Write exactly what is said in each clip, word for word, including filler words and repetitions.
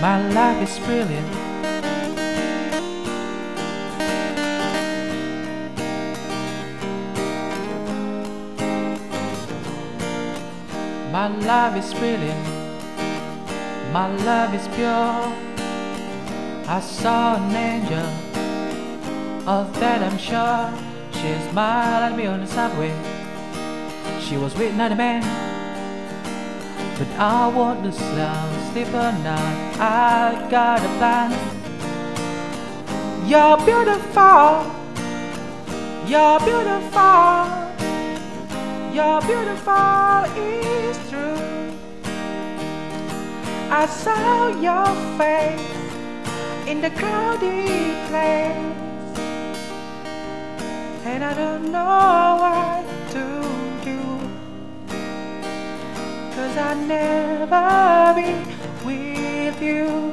My life is brilliant. My love is brilliant. My love is pure. I saw an angel, of that I'm sure. She smiled at me on the subway. She was with another man, but I want to sleep at night. I got a plan. You're beautiful. You're beautiful. You're beautiful, it's true. I saw your face in the crowded place, and I don't know what to do, 'cause I'll never be with you.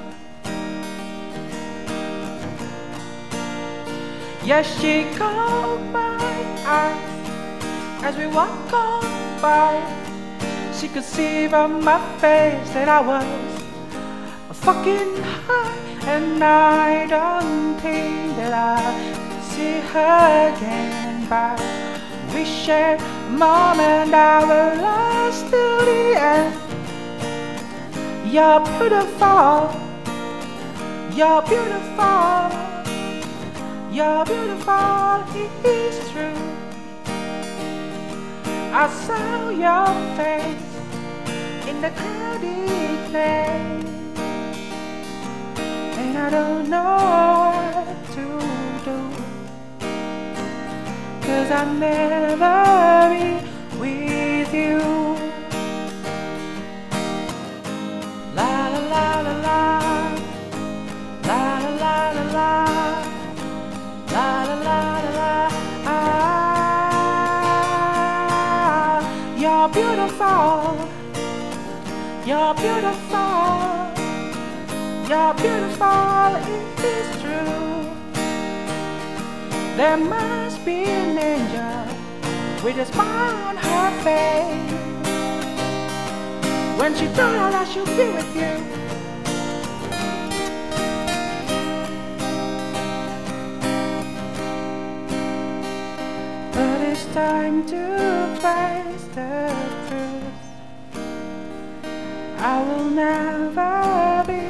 Yes, she caught my eyes as we walk on by. She could see from my face that I was fucking high, and I don't think that I'll see her again. But we shared a moment that will last till the end. You're beautiful. You're beautiful. You're beautiful, it's true. I saw your face in the crowded place, and I don't know what to do, 'cause I'll never be with you. La la la la la, la la la la la, la la la la la. You're beautiful. You're beautiful. You're beautiful, it is true. There must be an angel with a smile on her face when she thought I should be with you. But it's time to face the truth. I will never be